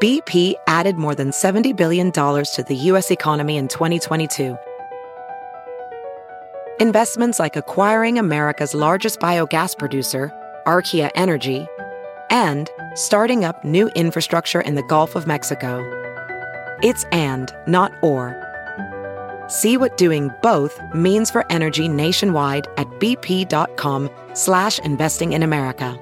BP added more than $70 billion to the U.S. economy in 2022. Investments like acquiring America's largest biogas producer, Archaea Energy, and starting up new infrastructure in the Gulf of Mexico. It's and, not or. See what doing both means for energy nationwide at bp.com/investing in America.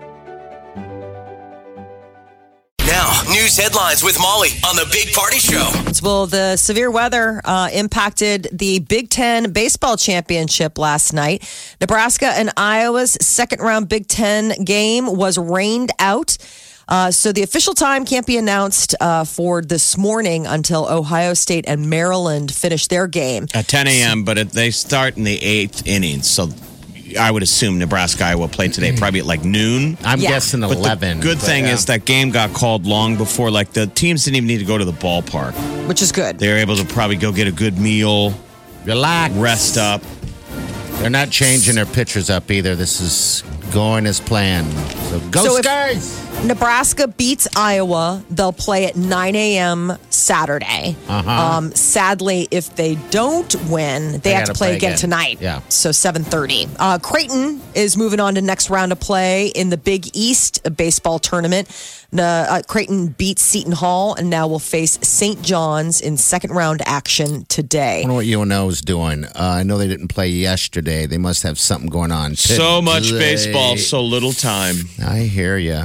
Now, news headlines with Molly on the Big Party Show. Well, the severe weather impacted the Big Ten baseball championship last night. Nebraska and Iowa's second-round Big Ten game was rained out. So the official time can't be announced for this morning until Ohio State and Maryland finish their game. At 10 a.m., but they start in the 8th inning. So I would assume Nebraska-Iowa play today, probably at like noon. I'm guessing 11. The good thing is that game got called long before. Like the teams didn't even need to go to the ballpark. Which is good. They were able to probably go get a good meal. Relax. Rest up. They're not changing their pitchers up either. This is going as planned. So go Stars! Nebraska beats Iowa, they'll play at 9 a.m. Saturday. Sadly, if they don't win, they have to play again tonight. Yeah. So 7:30. Creighton is moving on to next round of play in the Big East baseball tournament. Creighton beats Seton Hall and now will face St. John's in second round action today. I wonder what UNO is doing. I know they didn't play yesterday. They must have something going on today. So much baseball, so little time. I hear you.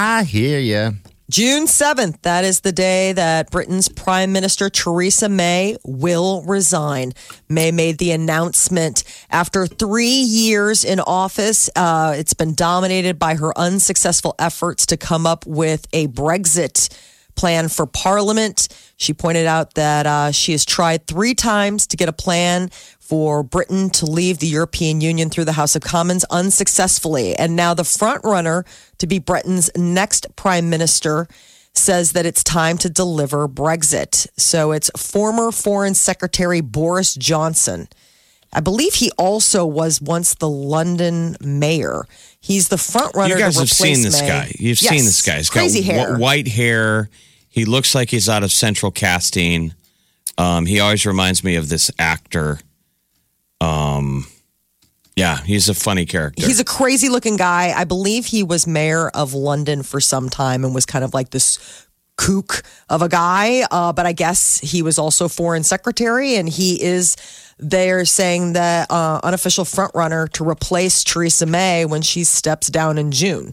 June 7th, that is the day that Britain's Prime Minister Theresa May will resign. May made the announcement after 3 years in office. It's been dominated by her unsuccessful efforts to come up with a Brexit plan for Parliament. She pointed out that she has tried 3 times to get a plan for Britain to leave the European Union through the House of Commons unsuccessfully. And now the front runner to be Britain's next prime minister says that it's time to deliver Brexit. So it's former Foreign Secretary Boris Johnson. I believe he also was once the London mayor. He's the front runner. You guys to have seen this May. guy. You've seen this guy. He's crazy got hair. White hair. He looks like he's out of Central Casting. He always reminds me of this actor. Yeah, he's a funny character. He's a crazy looking guy. I believe he was mayor of London for some time and was kind of like this kook of a guy. But I guess he was also foreign secretary, and he is, they're saying, the unofficial front runner to replace Theresa May when she steps down in June.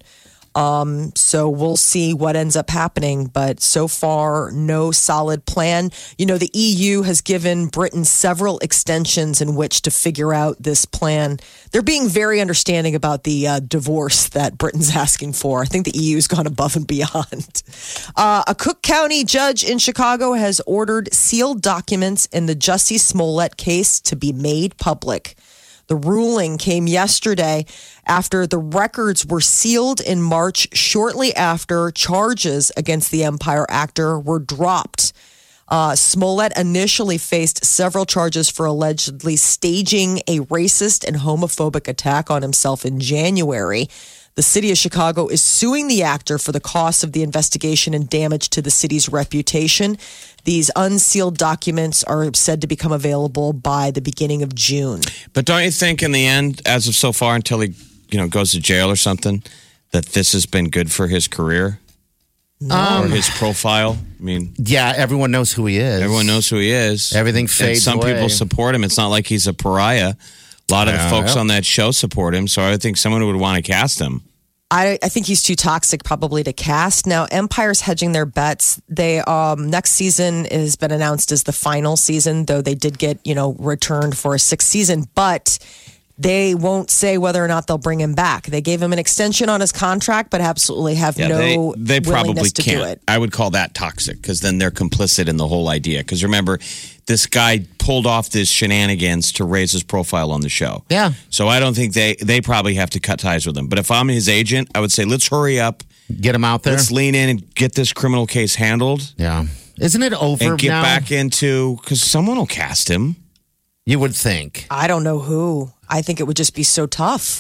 So we'll see what ends up happening, but so far, no solid plan. You know, the EU has given Britain several extensions in which to figure out this plan. They're being very understanding about the divorce that Britain's asking for. I think the EU's gone above and beyond. A Cook County judge in Chicago has ordered sealed documents in the Jussie Smollett case to be made public. The ruling came yesterday after the records were sealed in March, shortly after charges against the Empire actor were dropped. Smollett initially faced several charges for allegedly staging a racist and homophobic attack on himself in January. The city of Chicago is suing the actor for the cost of the investigation and damage to the city's reputation. These unsealed documents are said to become available by the beginning of June. But don't you think in the end, as of so far, until he goes to jail or something, that this has been good for his career? Or his profile? I mean, yeah, everyone knows who he is. Everyone knows who he is. Everything fades and some away. people support him. It's not like he's a pariah. A lot of the folks on that show support him, so I think someone would want to cast him. I think he's too toxic probably to cast. Now, Empire's hedging their bets. They next season has been announced as the final season, though they did get, returned for a 6th season, but they won't say whether or not they'll bring him back. They gave him an extension on his contract, but absolutely have no they probably willingness to can't do it. I would call that toxic because then they're complicit in the whole idea. Because remember, this guy pulled off this shenanigans to raise his profile on the show. Yeah. So I don't think they probably have to cut ties with him. But if I'm his agent, I would say, let's hurry up. Get him out there. Let's lean in and get this criminal case handled. Yeah. Isn't it over and get now? back into, because someone will cast him. You would think. I don't know who. I think it would just be so tough.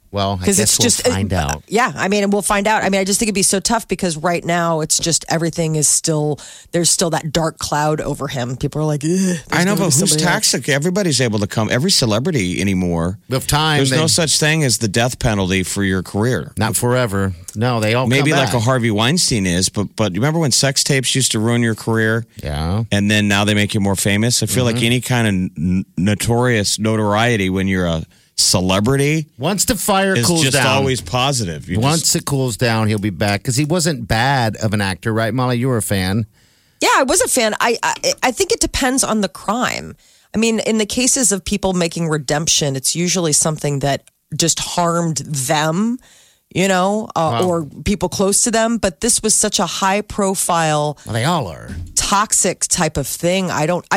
Well, I Because guess it's just we'll find out. Yeah, I mean, and we'll find out. I mean, I just think it'd be so tough because right now it's just everything is still there's still that dark cloud over him. People are like, "Ugh, I know, but there's who's somebody else." toxic? Everybody's able to come. Every celebrity anymore. With time, There's no such thing as the death penalty for your career. not forever. No, they all Maybe come like back. a Harvey Weinstein is, but you remember when sex tapes used to ruin your career? Yeah. And then now they make you more famous. I feel like any kind of notorious notoriety when you're a celebrity Once the fire is cools just down, always positive. You once it cools down, he'll be back because he wasn't bad of an actor, right, Molly? You were a fan. Yeah, I was a fan. I think it depends on the crime. I mean, in the cases of people making redemption, it's usually something that just harmed them, or people close to them. But this was such a high profile, Well, they all are. toxic type of thing.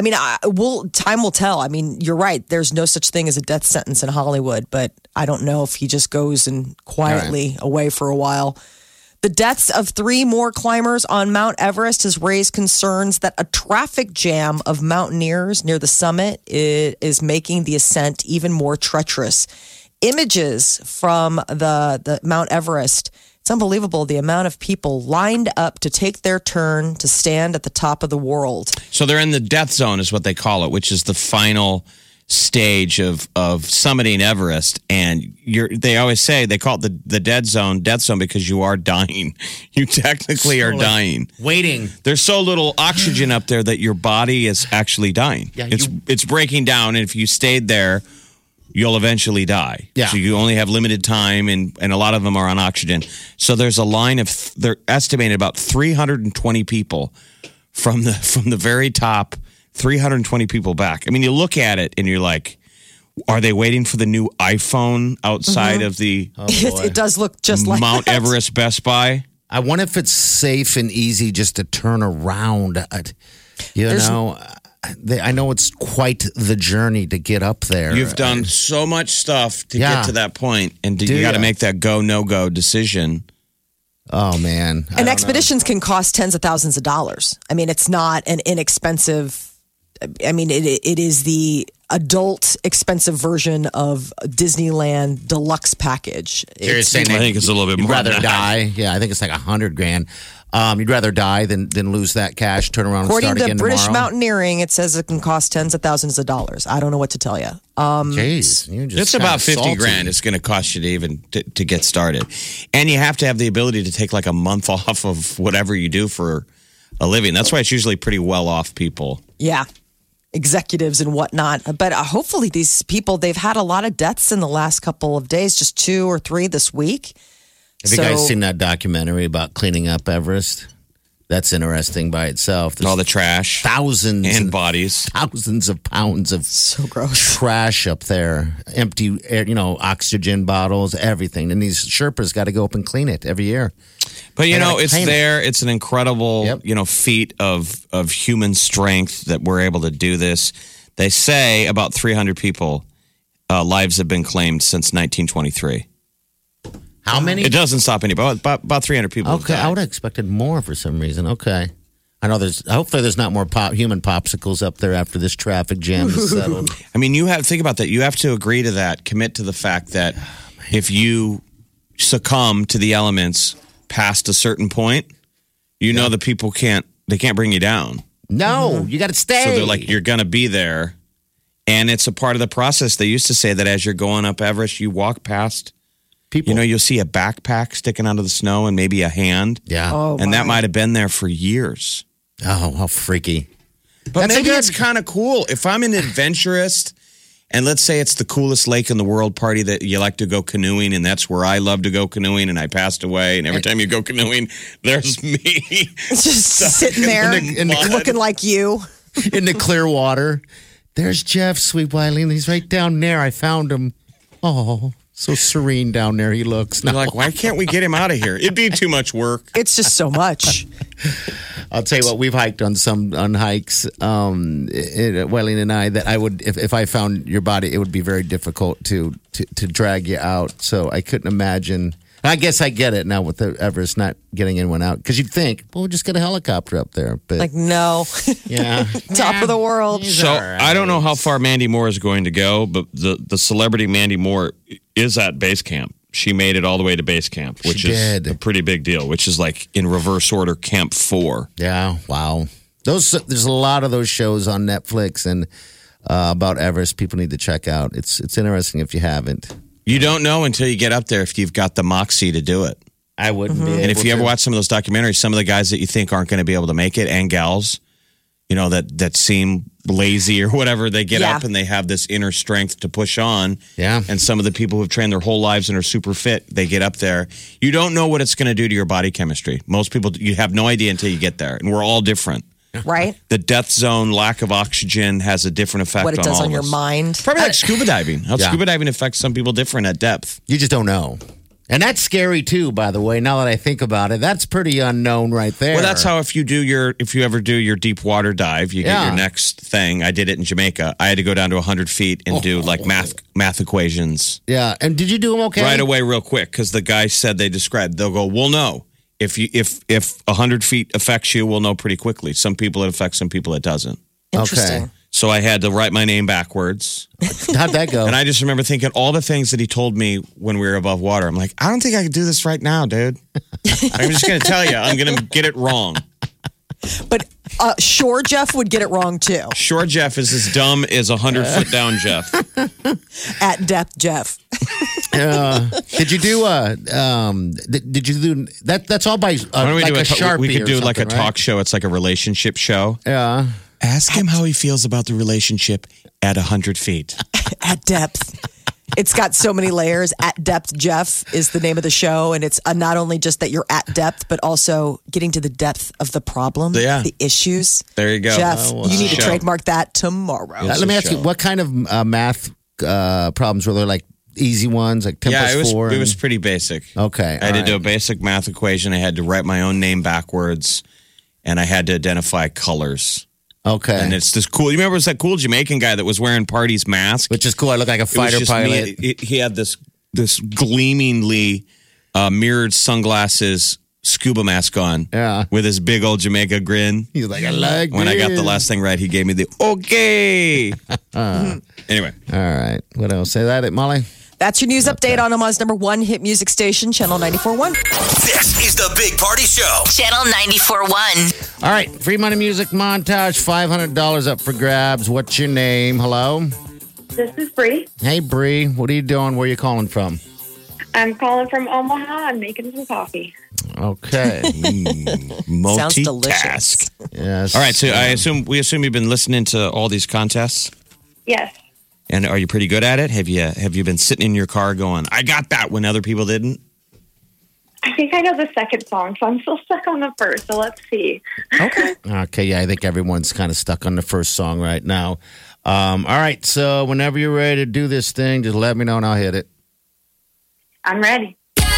Time will tell. I mean, you're right. There's no such thing as a death sentence in Hollywood, but I don't know if he just goes and quietly away for a while. The deaths of 3 more climbers on Mount Everest has raised concerns that a traffic jam of mountaineers near the summit is making the ascent even more treacherous. Images from the Mount Everest, it's unbelievable the amount of people lined up to take their turn to stand at the top of the world. So they're in the death zone is what they call it, which is the final stage of summiting Everest. And they always say they call it the death zone because you are dying. You technically are dying. Waiting. There's so little oxygen up there that your body is actually dying. Yeah, it's breaking down, and if you stayed there, you'll eventually die. Yeah. So you only have limited time, and a lot of them are on oxygen. So there's a line of they're estimated about 320 people from the very top, 320 people back. I mean, you look at it and you're like, are they waiting for the new iPhone outside of the It does look just like Mount that. Everest Best Buy? I wonder if it's safe and easy just to turn around. I know it's quite the journey to get up there. You've done so much stuff to Yeah. get to that point, and Do you got to ya? make that go, no go decision. Oh, man. And expeditions can cost tens of thousands of dollars. I mean, it's not an inexpensive. I mean, it is the adult expensive version of Disneyland deluxe package. You're saying I think it's a little bit you'd more rather than that. die. Yeah, I think it's like $100,000. You'd rather die than lose that cash, turn around and According start to again British tomorrow. Mountaineering, it says it can cost tens of thousands of dollars. I don't know what to tell you. Jeez, you're just It's kinda about 50 salty. grand. It's going to cost you to even to get started. And you have to have the ability to take like a month off of whatever you do for a living. That's why it's usually pretty well off people. Yeah. Executives and whatnot. But hopefully these people, they've had a lot of deaths in the last couple of days, just 2 or 3 this week. Have you guys seen that documentary about cleaning up Everest? That's interesting by itself. There's All the trash thousands and bodies. thousands of pounds of So gross. trash up there, empty air, oxygen bottles, everything. And these Sherpas got to go up and clean it every year. But They gotta it's clean it. there. It's an incredible, Yep. feat of human strength that we're able to do this. They say about 300 people lives have been claimed since 1923. How many? It doesn't stop anybody. About 300 people. have Okay, died. I would have expected more for some reason. Okay. I know hopefully there's not more human popsicles up there after this traffic jam is settled. I mean, think about that. You have to agree to that, commit to the fact that if you succumb to the elements past a certain point, know the people can't bring you down. No, you got to stay. So they're like, you're going to be there. And it's a part of the process. They used to say that as you're going up Everest, you walk past, people. you'll see a backpack sticking out of the snow and maybe a hand. Yeah. Oh, And that my. might have been there for years. Oh, how freaky. But That's a maybe good- it's kind of cool. If I'm an adventurist, and let's say it's the coolest lake in the world party that you like to go canoeing, and that's where I love to go canoeing, and I passed away, and every time you go canoeing, there's me. It's just sitting there in the mud. looking like you. In the clear water. There's Jeff, sweet Wileen. He's right down there. I found him. Oh, so serene down there he looks. You're like, why can't we get him out of here? It'd be too much work. It's just so much. I'll tell you what, we've hiked on hikes, Wileen and I, that I would, if I found your body, it would be very difficult to drag you out. So I couldn't imagine. I guess I get it now with the Everest not getting anyone out. Because you'd think, well, we'll just get a helicopter up there. But Like, no. yeah. Top of the world. He's So all right. I don't know how far Mandy Moore is going to go, but the celebrity Mandy Moore is at base camp. she made it all the way to base camp, which is a pretty big deal, which is like in reverse order, Camp 4. Yeah, wow. There's a lot of those shows on Netflix and about Everest people need to check out. It's interesting if you haven't. You don't know until you get up there if you've got the moxie to do it. I wouldn't be. And if you ever watch some of those documentaries, some of the guys that you think aren't going to be able to make it and gals, you know, that seem lazy or whatever, they get up and they have this inner strength to push on. Yeah. And some of the people who've trained their whole lives and are super fit, they get up there. You don't know what it's going to do to your body chemistry. Most people, you have no idea until you get there. And we're all different. Right? The death zone, lack of oxygen has a different effect on all of us. What it does on your mind. Probably like scuba diving. How scuba diving affects some people different at depth. You just don't know. And that's scary too, by the way, now that I think about it. That's pretty unknown right there. Well, that's how if you ever do your deep water dive, you get your next thing. I did it in Jamaica. I had to go down to 100 feet and do like math equations. Yeah. And did you do them okay? Right away, real quick, because the guy said they'll go, we'll know. If 100 feet affects you, we'll know pretty quickly. Some people it affects, some people it doesn't. Interesting. Okay. So I had to write my name backwards. How'd that go? And I just remember thinking all the things that he told me when we were above water. I'm like, I don't think I could do this right now, dude. I'm just going to tell you, I'm going to get it wrong. But Shore Jeff would get it wrong too. Shore Jeff is as dumb as 100-foot down Jeff. At depth Jeff. Did you do did you do that? That's all by Why don't we like do a Sharpie. We could do or like a something, talk right? show. It's like a relationship show. Yeah. Ask him how he feels about the relationship at 100 feet. At depth. It's got so many layers. At Depth Jeff is the name of the show. And it's not only just that you're at depth, but also getting to the depth of the problem, the issues. There you go. Jeff, you need to Show. trademark that tomorrow. It's Let me a ask you, show. what kind of math problems were there? Like easy ones, like 10 plus 4? It was pretty basic. Okay. I had to do a basic math equation. I had to write my own name backwards, and I had to identify colors. Okay. And it's this cool. You remember it was that cool Jamaican guy that was wearing Party's mask? Which is cool. I look like a It was fighter just pilot. he had this gleamingly mirrored sunglasses scuba mask on. Yeah. With his big old Jamaica grin. He's like, I like When I got the this. last thing right, he gave me the okay. Anyway. All right. What else? Say that, Molly? That's your news update on Omaha's number one hit music station, Channel 94.1. This is the Big Party Show. Channel 94.1. All right. Free money music montage. $500 up for grabs. What's your name? Hello? This is Bree. Hey, Bree. What are you doing? Where are you calling from? I'm calling from Omaha. I'm making some coffee. Okay. Sounds delicious. Multitask. Yes. All right, so we assume you've been listening to all these contests, Yes. and are you pretty good at it? Have you been sitting in your car going, "I got that" when other people didn't? I think I know the second song, so I'm still stuck on the first. So let's see. Okay. Okay, yeah, I think everyone's kind of stuck on the first song right now. All right, so whenever you're ready to do this thing, just let me know and I'll hit it. I'm ready.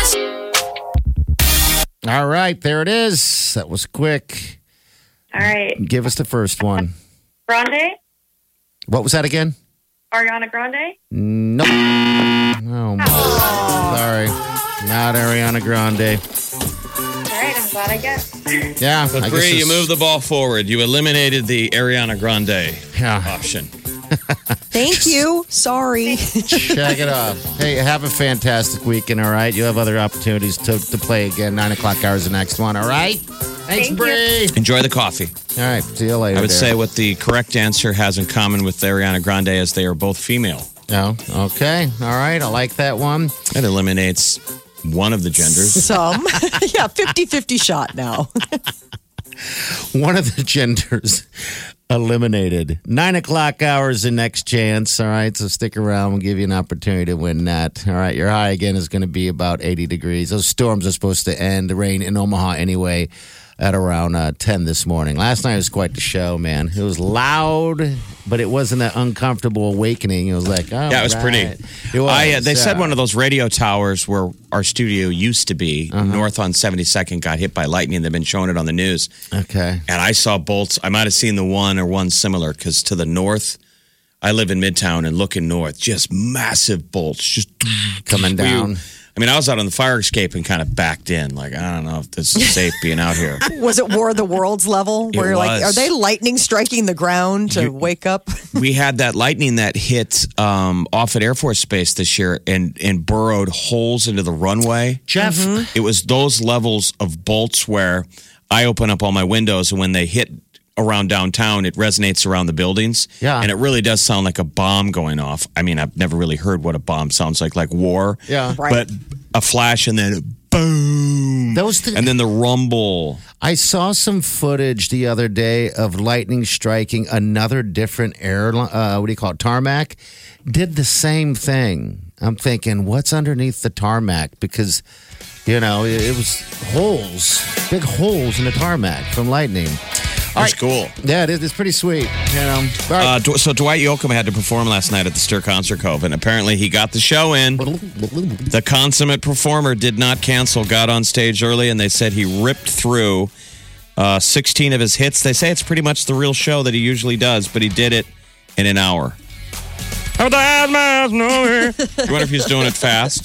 All right, there it is. That was quick. All right. Give us the first one. Grande? What was that again? Ariana Grande? Nope. Oh, my. Sorry. Not Ariana Grande. All right. I'm glad I guessed. Yeah. But I Bree, guess you moved the ball forward. You eliminated the Ariana Grande Yeah. option. Thank you. Sorry. Check it out. Hey, have a fantastic weekend, all right? You have other opportunities to play again. 9 o'clock hours the next one, all right? Thanks, Thank Bree. Enjoy the coffee. All right. See you later. I would there. say what the correct answer has in common with Ariana Grande is they are both female. Oh, okay. All right. I like that one. That eliminates one of the genders. Some. Yeah, 50-50 shot now. One of the genders eliminated. 9 o'clock hours the next chance. All right. So stick around. We'll give you an opportunity to win that. All right. Your high again is going to be about 80 degrees. Those storms are supposed to end. The rain in Omaha anyway at around 10 this morning. Last night was quite the show, man. It was loud, but it wasn't an uncomfortable awakening. It was like, oh, Yeah, it was pretty. It was. They said one of those radio towers where our studio used to be, north on 72nd, got hit by lightning. They've been showing it on the news. Okay. And I saw bolts. I might have seen the one or one similar because to the north, I live in Midtown and looking north, just massive bolts just Coming down. I mean, I was out on the fire escape and kind of backed in. Like, I don't know if this is safe being out here. Was it War of the Worlds level? Where you're like, are they lightning striking the ground to wake up? We had that lightning that hit off at Air Force Base this year and burrowed holes into the runway. Jeff, It was those levels of bolts where I open up all my windows, and when they hit around downtown, it resonates around the buildings. Yeah. And it really does sound like a bomb going off. I mean, I've never really heard what a bomb sounds like war. Yeah. Right. But a flash and then boom. And then the rumble. I saw some footage the other day of lightning striking another different airline. What do you call it? Tarmac. Did the same thing. I'm thinking, what's underneath the tarmac? Because, it was holes, big holes in the tarmac from lightning. That's cool. Yeah, it is. It's pretty sweet. All right. So Dwight Yoakam had to perform last night at the Stir Concert Cove, and apparently he got the show in. The consummate performer did not cancel, got on stage early, and they said he ripped through 16 of his hits. They say it's pretty much the real show that he usually does, but he did it in an hour. I wonder if he's doing it fast.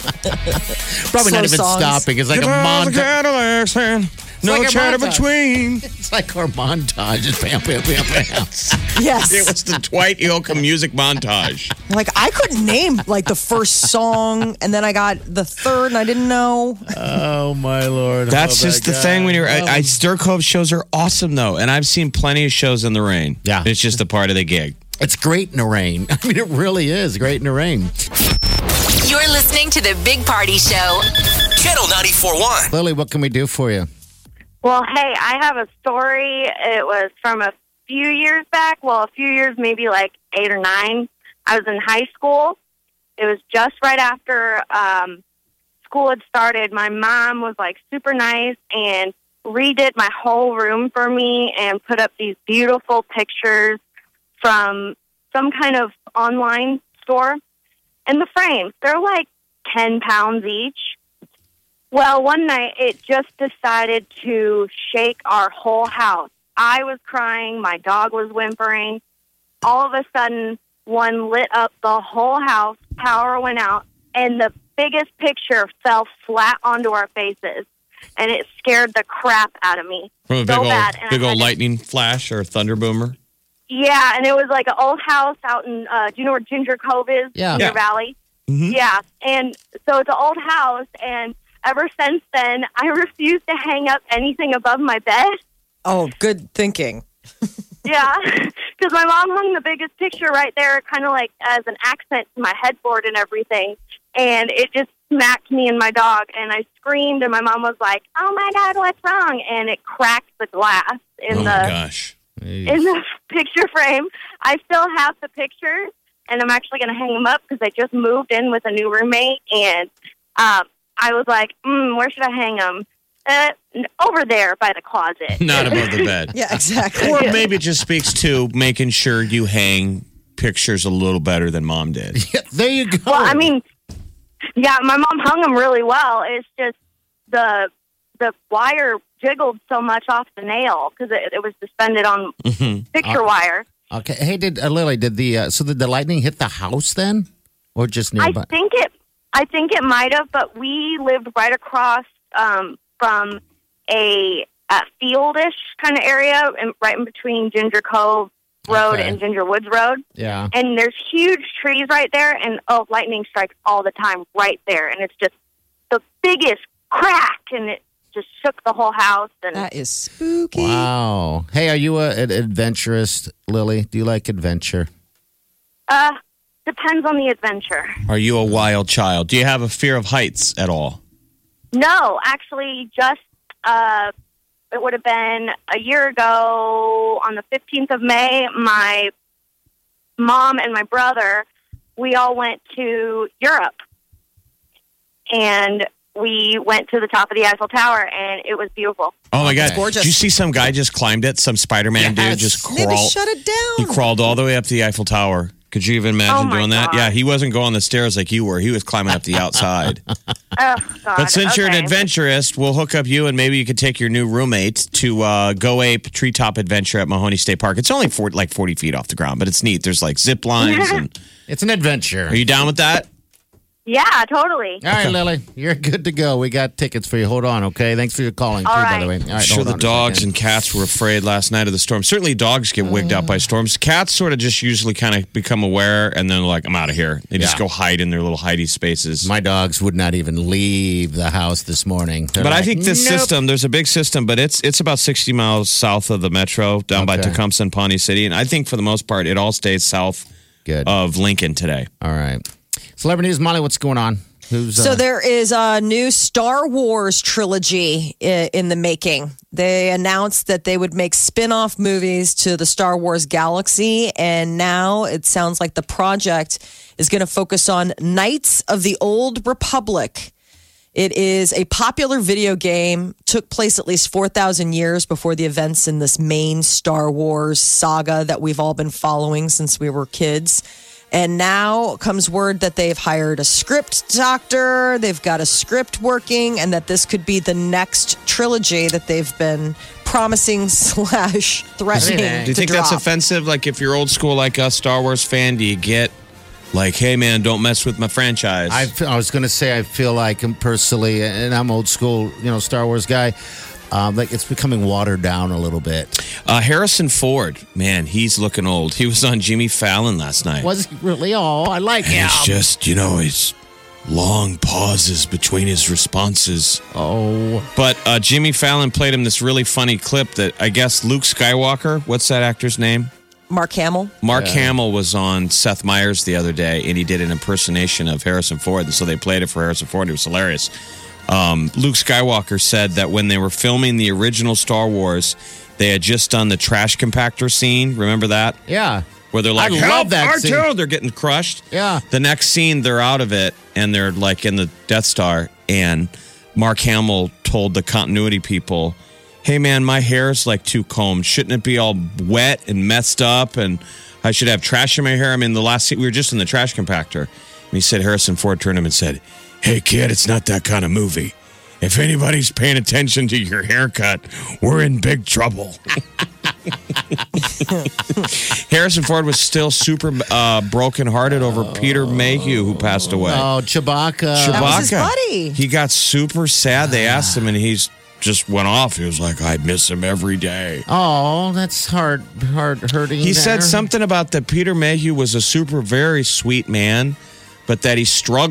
Probably not even songs. stopping. It's like a montage. No like a chatter montage. between. It's like our montage. It's bam, bam, bam, bam. Yes. It was the Dwight Yoakam music montage. Like, I couldn't name, like, the first song, and then I got the third, and I didn't know. Oh, my Lord. That's just the thing when you're. Stir Cove shows are awesome, though. And I've seen plenty of shows in the rain. Yeah. It's just a part of the gig. It's great in the rain. I mean, it really is great in the rain. You're listening to the Big Party Show. Channel 94.1. Lily, what can we do for you? Well, hey, I have a story. It was from a few years back. Well, a few years, maybe like 8 or 9. I was in high school. It was just right after school had started. My mom was like super nice and redid my whole room for me and put up these beautiful pictures from some kind of online store. And the frames, they're like 10 pounds each. Well, one night it just decided to shake our whole house. I was crying. My dog was whimpering. All of a sudden, one lit up the whole house. Power went out, and the biggest picture fell flat onto our faces. And it scared the crap out of me. From a so bad. And big I had old to- lightning flash or thunder boomer. Yeah, and it was like an old house out in, do you know where Ginger Cove is? Yeah. Ginger Yeah. Valley? Mhm. Yeah, and so it's an old house, and ever since then, I refuse to hang up anything above my bed. Oh, good thinking. Yeah, because my mom hung the biggest picture right there, kind of like as an accent to my headboard and everything, and it just smacked me and my dog, and I screamed, and my mom was like, "Oh my God, what's wrong?" And it cracked the glass in Oh, the my gosh. in the picture frame. I still have the pictures, and I'm actually going to hang them up because I just moved in with a new roommate, and I was like, where should I hang them? Over there by the closet. Not above the bed. Yeah, exactly. Or maybe it just speaks to making sure you hang pictures a little better than mom did. Yeah, there you go. Well, I mean, yeah, my mom hung them really well. It's just the wire jiggled so much off the nail because it was suspended on picture wire. Okay. Hey, Lily, did the lightning hit the house then? Or just nearby? I think it might have, but we lived right across from a fieldish kind of area, and right in between Ginger Cove Road Okay. and Ginger Woods Road. Yeah. And there's huge trees right there, and lightning strikes all the time right there, and it's just the biggest crack, and it just shook the whole house. And That is spooky. Wow. Hey, are you an adventurist, Lily? Do you like adventure? depends on the adventure. Are you a wild child? Do you have a fear of heights at all? No, actually, just it would have been a year ago on the 15th of May. My mom and my brother, we all went to Europe, and we went to the top of the Eiffel Tower, and it was beautiful. Oh my God! gorgeous. Did you see some guy just climbed it? Some Spider-Man dude just Maybe crawled. shut it down. He crawled all the way up to the Eiffel Tower. Could you even imagine Oh, my doing that? God. Yeah, he wasn't going the stairs like you were. He was climbing up the outside. Oh, God. But since you're an Okay. adventurist, we'll hook up you, and maybe you could take your new roommate to Go Ape Treetop Adventure at Mahoney State Park. It's only 40 feet off the ground, but it's neat. There's like zip lines. And It's an adventure. are you down with that? Yeah, totally. All right, Lily, you're good to go. We got tickets for you. Hold on, okay? Thanks for your calling, too, All by the way. right. All right, Sure, hold the on a dogs second. and cats were afraid last night of the storm. Certainly, dogs get wigged out by storms. Cats sort of just usually kind of become aware and then like, I'm out of here. They just Yeah. go hide in their little hidey spaces. My dogs would not even leave the house this morning. They're But I like, think this "Nope." system, there's a big system, but it's about 60 miles south of the metro, down by Okay. Tecumseh and Pawnee City. And I think for the most part, it all stays south Good. of Lincoln today. All right. Celebrity News, Molly, what's going on? Who's So there is a new Star Wars trilogy in the making. They announced that they would make spin-off movies to the Star Wars galaxy, and now it sounds like the project is going to focus on Knights of the Old Republic. It is a popular video game, took place at least 4,000 years before the events in this main Star Wars saga that we've all been following since we were kids. And now comes word that they've hired a script doctor, they've got a script working, and that this could be the next trilogy that they've been promising / threatening. Do you think that's offensive? Like, if you're old school like us, Star Wars fan, do you get like, hey, man, don't mess with my franchise? I was going to say, I feel like personally, and I'm old school, Star Wars guy, like it's becoming watered down a little bit. Harrison Ford, man, he's looking old. He was on Jimmy Fallon last night. Was he really? Oh, I like him. It's just, it's long pauses between his responses. Oh. But Jimmy Fallon played him this really funny clip that I guess Luke Skywalker, what's that actor's name? Mark Hamill. Mark Hamill was on Seth Meyers the other day, and he did an impersonation of Harrison Ford. And so they played it for Harrison Ford. It was hilarious. Luke Skywalker said that when they were filming the original Star Wars, they had just done the trash compactor scene. Remember that? Yeah. Where they're like, I help, love that R2! scene. They're getting crushed. Yeah. The next scene, they're out of it, and they're like in the Death Star. And Mark Hamill told the continuity people, hey, man, my hair's like too combed. Shouldn't it be all wet and messed up? And I should have trash in my hair. I mean, the last scene, we were just in the trash compactor. And he said, Harrison Ford turned to him and said, hey, kid, it's not that kind of movie. If anybody's paying attention to your haircut, we're in big trouble. Harrison Ford was still super brokenhearted over Peter Mayhew, who passed away. Oh, Chewbacca. That was his buddy. He got super sad. They asked him, and he's just went off. He was like, I miss him every day. Oh, that's hard hurting. He said something about that Peter Mayhew was a very sweet man, but that he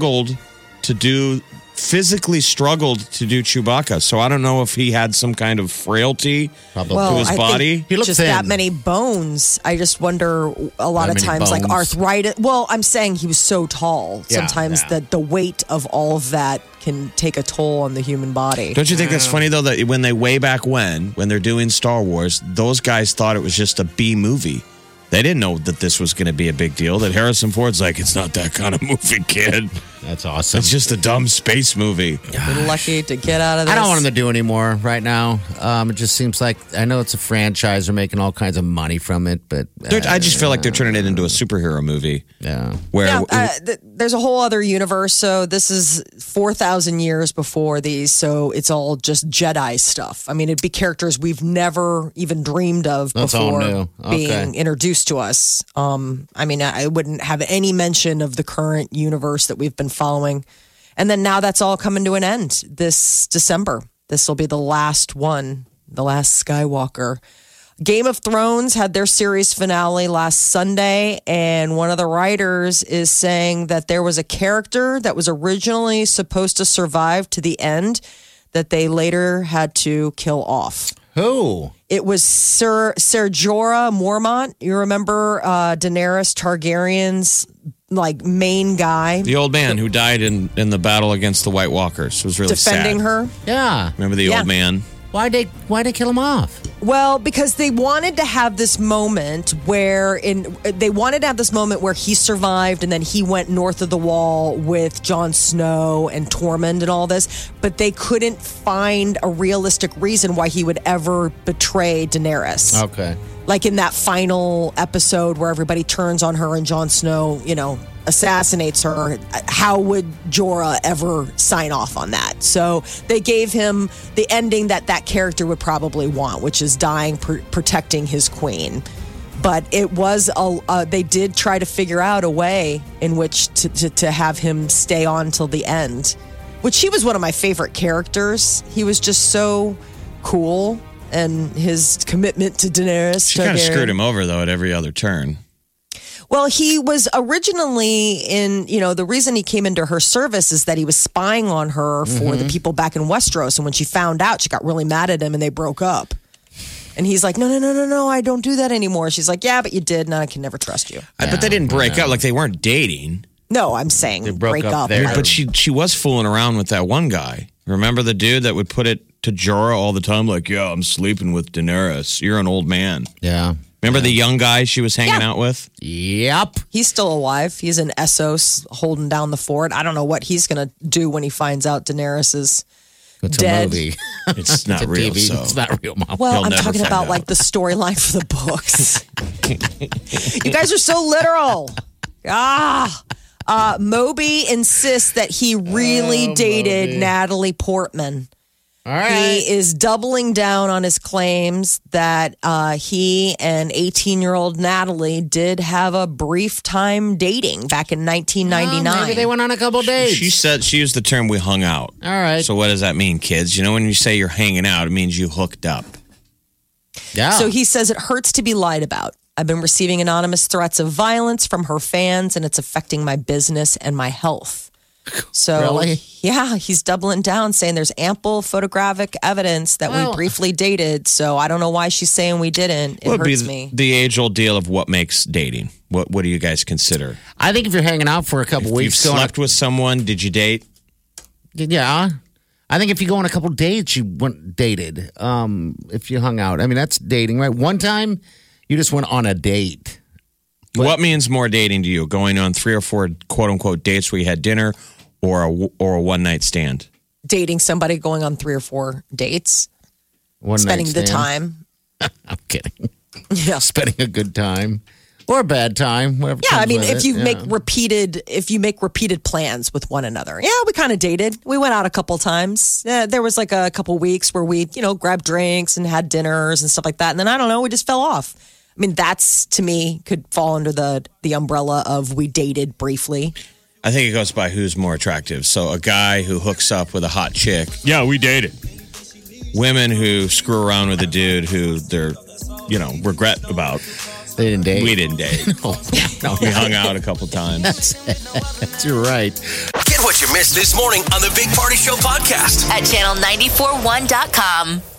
physically struggled to do Chewbacca. So I don't know if he had some kind of frailty to his I body. think He looked just thin. that many bones. I just wonder a lot That of many times, like bones. arthritis. Well, I'm saying he was so tall. Yeah, Sometimes yeah. the weight of all of that can take a toll on the human body. Don't you think that's funny though that when they're doing Star Wars, those guys thought it was just a B movie. They didn't know that this was going to be a big deal. That Harrison Ford's like, it's not that kind of movie, kid. That's awesome. It's just a dumb space movie. We're lucky to get out of this. I don't want him to do anymore right now. It just seems like, I know it's a franchise. They're making all kinds of money from it, but I just feel like they're turning it into a superhero movie. yeah. Where There's a whole other universe. So this is 4,000 years before these. So it's all just Jedi stuff. I mean, it'd be characters we've never even dreamed of That's all before new. Okay. being introduced to us. I mean, I wouldn't have any mention of the current universe that we've been following. And then now that's all coming to an end this December. This will be the last one, the last Skywalker. Game of Thrones had their series finale last Sunday, and one of the writers is saying that there was a character that was originally supposed to survive to the end that they later had to kill off. Who? It was Ser Jorah Mormont. You remember Daenerys Targaryen's main guy the old man who died in the battle against the White Walkers was really defending sad. her? Yeah. Remember the Yeah. old man? Why'd they kill him off? Well, because they wanted to have this moment where he survived and then he went north of the wall with Jon Snow and Tormund and all this, but they couldn't find a realistic reason why he would ever betray Daenerys. Okay. Like in that final episode where everybody turns on her and Jon Snow, assassinates her. How would Jorah ever sign off on that? So they gave him the ending that character would probably want, which is dying protecting his queen. But it was they did try to figure out a way in which to have him stay on till the end, which he was one of my favorite characters. He was just so cool, and his commitment to Daenerys. She kind of screwed him over though at every other turn. Well, he was originally the reason he came into her service is that he was spying on her for the people back in Westeros. And when she found out, she got really mad at him and they broke up. And he's like, no, I don't do that anymore. She's like, yeah, but you did, and I can never trust you. But they didn't break up. Like, they weren't dating. No, I'm saying They broke break up up. there. Like, But she was fooling around with that one guy. Remember the dude that would put it to Jorah all the time? Like, yeah, I'm sleeping with Daenerys. You're an old man. Yeah. Remember the young guy she was hanging out with? Yep. he's still alive. He's in Essos holding down the fort. I don't know what he's going to do when he finds out Daenerys is It's dead. a movie. It's not It's a real. TV. So. It's not real, Mom. Well, He'll I'm never talking find about out. like the storyline for the books. You guys are so literal. Moby insists that he really dated Moby. Natalie Portman. All right. He is doubling down on his claims that he and 18-year-old Natalie did have a brief time dating back in 1999. Well, maybe they went on a couple dates. She said she used the term "we hung out." All right. So what does that mean, kids? You know, when you say you're hanging out, it means you hooked up. Yeah. So he says it hurts to be lied about. I've been receiving anonymous threats of violence from her fans, and it's affecting my business and my health. So, Really? yeah, he's doubling down, saying there's ample photographic evidence that Well- we briefly dated. So I don't know why she's saying we didn't. It Would be hurts me. the age-old deal of what makes dating. What do you guys consider? I think if you're hanging out for a couple You've weeks, going slept with someone. Did you date? yeah. I think if you go on a couple dates, you went dated. If you hung out, I mean that's dating, right? One time, you just went on a date. What means more dating to you? Going on 3 or 4 quote-unquote dates where you had dinner, or a one-night stand? Dating somebody, going on 3 or 4 dates, One spending night the stand. time. I'm kidding. Yeah. Spending a good time or a bad time, whatever. Yeah, I comes mean, with if it. you Yeah. make repeated plans with one another, yeah, we kind of dated. We went out a couple times. There was like a couple weeks where we, grabbed drinks and had dinners and stuff like that. And then I don't know, we just fell off. I mean, that's to me could fall under the umbrella of we dated briefly. I think it goes by who's more attractive. So a guy who hooks up with a hot chick, yeah, we dated. Women who screw around with a dude who they're, regret about. They didn't date. We didn't date. No, We hung out a couple times. That's you're right. Get what you missed this morning on the Big Party Show podcast. At channel941.com.